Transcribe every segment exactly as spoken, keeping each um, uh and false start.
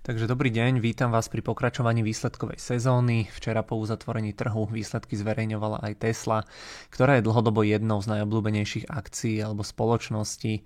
Takže dobrý deň, vítam vás pri pokračovaní výsledkovej sezóny. Včera po uzatvorení trhu výsledky zverejňovala aj Tesla, ktorá je dlhodobo jednou z najobľúbenejších akcií alebo spoločností,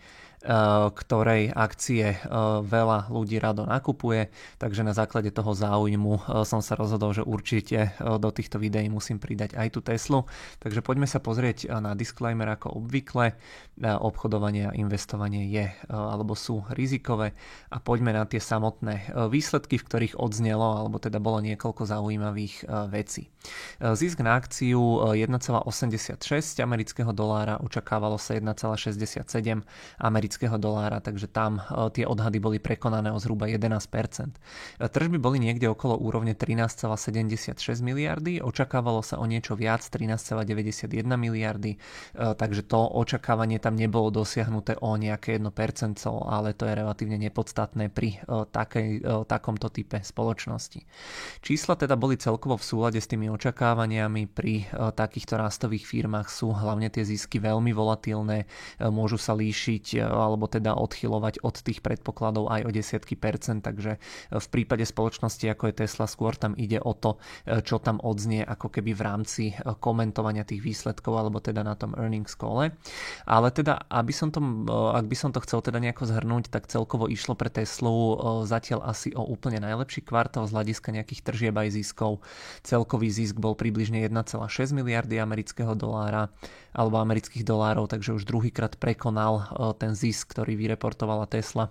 ktorej akcie veľa ľudí rado nakupuje, takže na základe toho záujmu som sa rozhodol, že určite do týchto videí musím pridať aj tú Teslu. Takže poďme sa pozrieť na disclaimer ako obvykle. Obchodovanie a investovanie je alebo sú rizikové a poďme na tie samotné výsledky, v ktorých odznelo alebo teda bolo niekoľko zaujímavých vecí. Zisk na akciu jeden celá osemdesiatšesť amerického dolára, očakávalo sa jeden celá šesťdesiatsedem amerického dolára, takže tam tie odhady boli prekonané o zhruba jedenásť percent. Tržby boli niekde okolo úrovne trinásť celá sedemdesiatšesť miliardy, očakávalo sa o niečo viac, trinásť celá deväťdesiatjeden miliardy, takže to očakávanie tam nebolo dosiahnuté o nejaké jedno percento, ale to je relatívne nepodstatné pri takej, takomto type spoločnosti. Čísla teda boli celkovo v súlade s tými očakávaniami. Pri takýchto rastových firmách sú hlavne tie zisky veľmi volatilné, môžu sa líšiť alebo teda odchylovať od tých predpokladov aj o desiatky percent, takže v prípade spoločnosti ako je Tesla skôr tam ide o to, čo tam odznie ako keby v rámci komentovania tých výsledkov alebo teda na tom earnings call. Ale teda, aby som to, ak by som to chcel teda nejako zhrnúť, tak celkovo išlo pre Teslu zatiaľ asi o úplne najlepší kvartál z hľadiska nejakých tržieb aj ziskov. Celkový zisk bol približne jeden celá šesť miliardy amerického dolára alebo amerických dolárov, takže už druhýkrát prekonal ten zisk, ktorý vyreportovala Tesla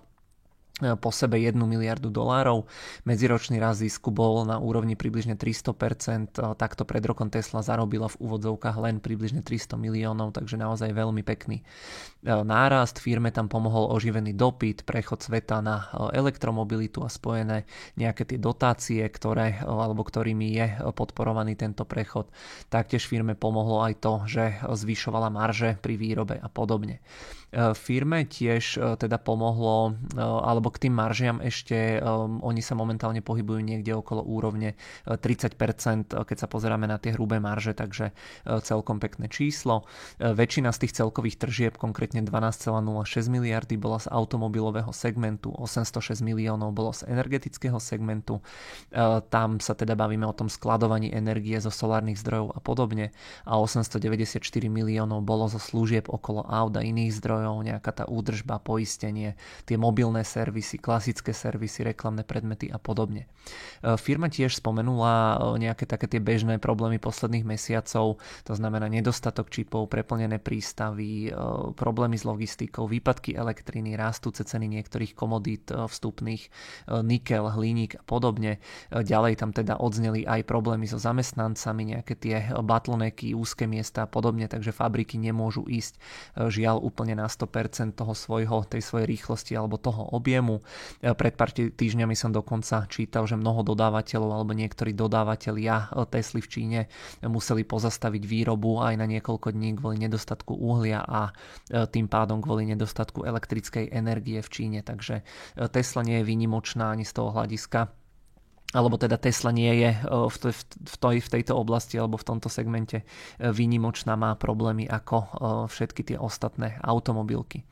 po sebe jednu miliardu dolárov. Medziročný rast zisku bol na úrovni približne tristo percent. Takto pred rokom Tesla zarobila v úvodzovkách len približne tristo miliónov, takže naozaj veľmi pekný nárast. Firme tam pomohol oživený dopyt, prechod sveta na elektromobilitu a spojené nejaké tie dotácie, ktoré, alebo ktorými je podporovaný tento prechod. Taktiež firme pomohlo aj to, že zvyšovala marže pri výrobe a podobne. Firme tiež teda pomohlo, alebo k tým maržiam ešte, um, oni sa momentálne pohybujú niekde okolo úrovne tridsať percent, keď sa pozeráme na tie hrubé marže, takže uh, celkom pekné číslo. Uh, väčšina z tých celkových tržieb, konkrétne dvanásť celá nula šesť miliardy, bola z automobilového segmentu, osemstošesť miliónov bolo z energetického segmentu. Uh, tam sa teda bavíme o tom skladovaní energie zo solárnych zdrojov a podobne a osemstodeväťdesiatštyri miliónov bolo zo služieb okolo aut a iných zdrojov, nejaká tá údržba, poistenie, tie mobilné servisy, klasické servisy, reklamné predmety a podobne. Firma tiež spomenula nejaké také tie bežné problémy posledných mesiacov, to znamená nedostatok čipov, preplnené prístavy, problémy s logistikou, výpadky elektriny, rastúce ceny niektorých komodít vstupných, nikel, hliník a podobne. Ďalej tam teda odzneli aj problémy so zamestnancami, nejaké tie bottlenecky, úzke miesta a podobne, takže fabriky nemôžu ísť žiaľ úplne na sto percent toho svojho, tej svojej rýchlosti alebo toho objemu. Pred pár týždňami som dokonca čítal, že mnoho dodávateľov alebo niektorí dodávateľia Tesly v Číne museli pozastaviť výrobu aj na niekoľko dní kvôli nedostatku uhlia a tým pádom kvôli nedostatku elektrickej energie v Číne. Takže Tesla nie je výnimočná ani z toho hľadiska, alebo teda Tesla nie je v, tej, v, tej, v tejto oblasti alebo v tomto segmente výnimočná, má problémy ako všetky tie ostatné automobilky.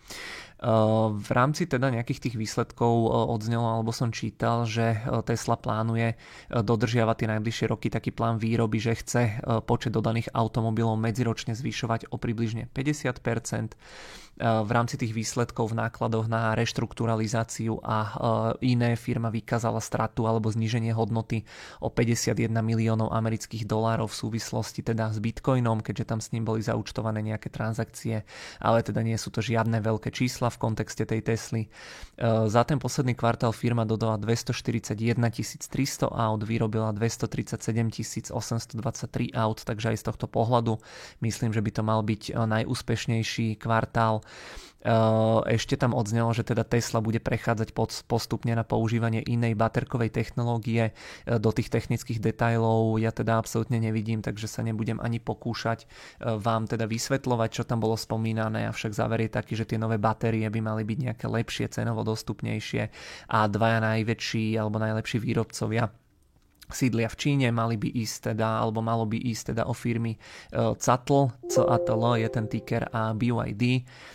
V rámci teda nejakých tých výsledkov odznelo, alebo som čítal, že Tesla plánuje dodržiavať tie najbližšie roky taký plán výroby, že chce počet dodaných automobilov medziročne zvyšovať o približne päťdesiat percent. V rámci tých výsledkov v nákladoch na reštrukturalizáciu a iné firma vykázala stratu alebo zníženie hodnoty o päťdesiatjeden miliónov amerických dolárov v súvislosti teda s Bitcoinom, keďže tam s ním boli zaúčtované nejaké transakcie, ale teda nie sú to žiadne veľké čísla v kontexte tej Tesly. Za ten posledný kvartál firma dodala dvestoštyridsaťjeden tisíc tristo aut, vyrobila dvestotridsaťsedem tisíc osemstodvadsaťtri aut, takže aj z tohto pohľadu myslím, že by to mal byť najúspešnejší kvartál. Ešte tam odznelo, že teda Tesla bude prechádzať postupne na používanie inej baterkovej technológie. Do tých technických detailov ja teda absolútne nevidím, takže sa nebudem ani pokúšať vám teda vysvetľovať, čo tam bolo spomínané, avšak záver je taký, že tie nové batérie by mali byť nejaké lepšie, cenovo dostupnejšie a dvaja najväčší alebo najlepší výrobcovia sídlia v Číne, mali by ísť teda, alebo malo by ísť teda o firmy cé á té el, cé á té el je ten ticker, a bé í dé,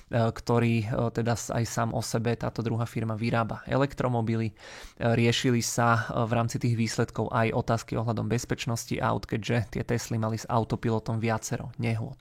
ktorý teda aj sám o sebe, táto druhá firma, vyrába elektromobily. Riešili sa v rámci tých výsledkov aj otázky ohľadom bezpečnosti aut, keďže tie Tesly mali s autopilotom viacero nehôd.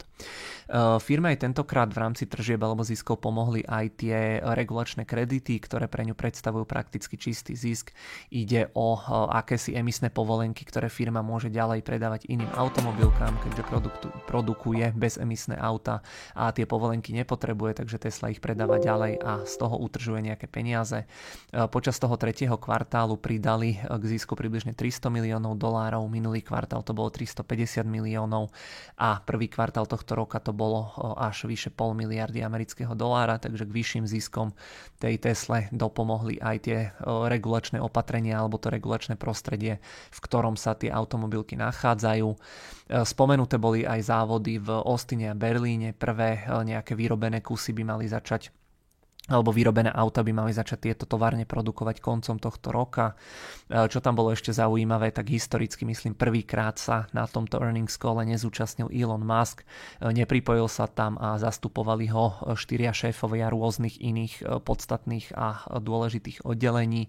Firme aj tentokrát v rámci tržieb alebo ziskov pomohli aj tie regulačné kredity, ktoré pre ňu predstavujú prakticky čistý zisk. Ide o akési emisné povolenky, ktoré firma môže ďalej predávať iným automobilkám, keďže produktu, produkuje bezemisné auta a tie povolenky nepotrebuje, takže Tesla ich predáva ďalej a z toho utržuje nejaké peniaze. Počas toho tretieho kvartálu pridali k zisku približne tristo miliónov dolárov, minulý kvartál to bolo tristopäťdesiat miliónov a prvý kvartál tohto roka to bolo až vyše pol miliardy amerického dolára, takže k vyšším ziskom tej Tesle dopomohli aj tie regulačné opatrenia alebo to regulačné prostredie, v ktorom sa tie automobilky nachádzajú. Spomenuté boli aj závody v Austine a Berlíne. Prvé nejaké vyrobené kusy by mali začať alebo vyrobené auta by mali začať tieto továrne produkovať koncom tohto roka. Čo tam bolo ešte zaujímavé, tak historicky myslím prvýkrát sa na tomto earnings call nezúčastnil Elon Musk, nepripojil sa tam a zastupovali ho štyria šéfovia rôznych iných podstatných a dôležitých oddelení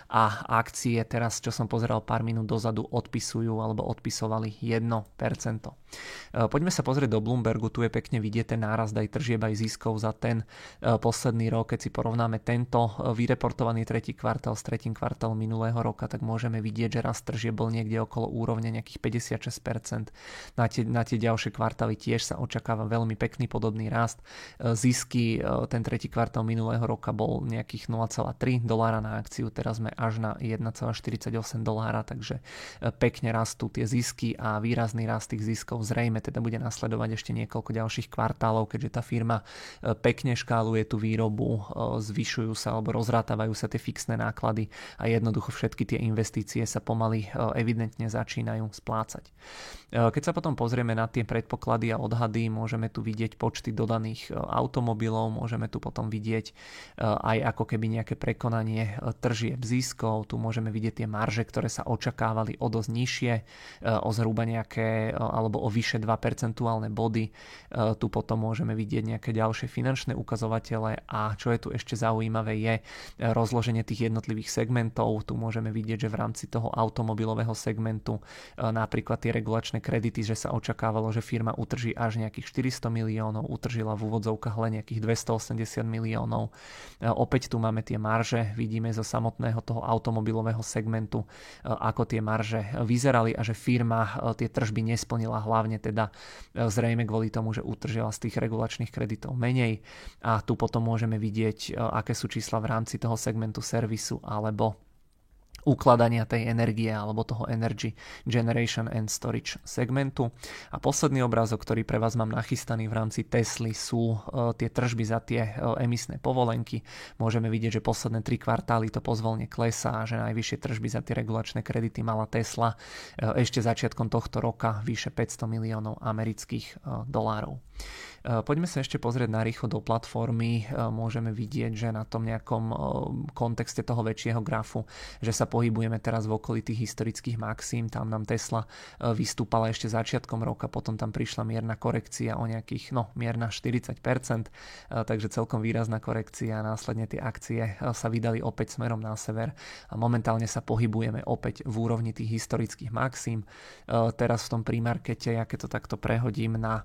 a akcie teraz, čo som pozeral pár minút dozadu, odpisujú alebo odpisovali jedno percento. Poďme sa pozrieť do Bloombergu, tu je pekne vidieť ten nárast aj tržieb aj ziskov za ten posledný rok. Keď si porovnáme tento vyreportovaný tretí kvartál s tretím kvartálom minulého roka, tak môžeme vidieť, že rast tržieb bol niekde okolo úrovne nejakých päťdesiatšesť percent. Na tie, na tie ďalšie kvartály tiež sa očakáva veľmi pekný podobný rast. Zisky ten tretí kvartál minulého roka bol nejakých nula celá tri dolára na akciu, teraz sme až na jeden celá štyridsaťosem dolára, takže pekne rastú tie zisky a výrazný rast tých ziskov zrejme teda bude nasledovať ešte niekoľko ďalších kvartálov, keďže tá firma pekne škáluje tú výrobu, zvyšujú sa alebo rozrátavajú sa tie fixné náklady a jednoducho všetky tie investície sa pomaly evidentne začínajú splácať. Keď sa potom pozrieme na tie predpoklady a odhady, môžeme tu vidieť počty dodaných automobilov, môžeme tu potom vidieť aj ako keby nejaké prekonanie tržieb ziskov, tu môžeme vidieť tie marže, ktoré sa očakávali o dosť nižšie, o zhruba nejaké alebo o vyše dva percentuálne body. Tu potom môžeme vidieť nejaké ďalšie finančné ukazovatele a čo je tu ešte zaujímavé je rozloženie tých jednotlivých segmentov. Tu môžeme vidieť, že v rámci toho automobilového segmentu napríklad tie regulačné kredity, že sa očakávalo, že firma utrží až nejakých štyristo miliónov, utržila v úvodzovkách len nejakých dvestoosemdesiat miliónov. Opäť tu máme tie marže, vidíme zo samotného toho automobilového segmentu, ako tie marže vyzerali a že firma tie tržby nesplnila, hlavne teda zrejme kvôli tomu, že utržila z tých regulačných kreditov menej a tu potom môžeme vidieť, aké sú čísla v rámci toho segmentu servisu alebo ukladania tej energie alebo toho Energy Generation and Storage segmentu. A posledný obrázok, ktorý pre vás mám nachystaný v rámci Tesly, sú uh, tie tržby za tie uh, emisné povolenky. Môžeme vidieť, že posledné tri kvartály to pozvolne klesá a že najvyššie tržby za tie regulačné kredity mala Tesla uh, ešte začiatkom tohto roka vyše päťsto miliónov amerických uh, dolárov. Poďme sa ešte pozrieť na rýchlo do platformy. Môžeme vidieť, že na tom nejakom kontexte toho väčšieho grafu, že sa pohybujeme teraz v okolí tých historických maxím. Tam nám Tesla vystúpala ešte začiatkom roka, potom tam prišla mierna korekcia o nejakých, no mierna štyridsať percent, takže celkom výrazná korekcia a následne tie akcie sa vydali opäť smerom na sever a momentálne sa pohybujeme opäť v úrovni tých historických maxím. Teraz v tom pre-markete, ja keď to takto prehodím na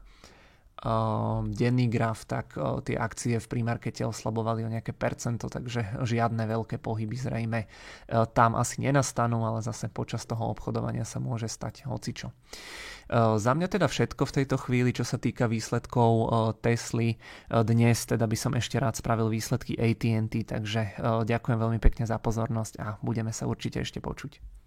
denný graf, tak tie akcie v pre-markete oslabovali o nejaké percento, takže žiadne veľké pohyby zrejme tam asi nenastanú, ale zase počas toho obchodovania sa môže stať hocičo. Za mňa teda všetko v tejto chvíli, čo sa týka výsledkov Tesly. Dnes teda by som ešte rád spravil výsledky á té and té, takže ďakujem veľmi pekne za pozornosť a budeme sa určite ešte počuť.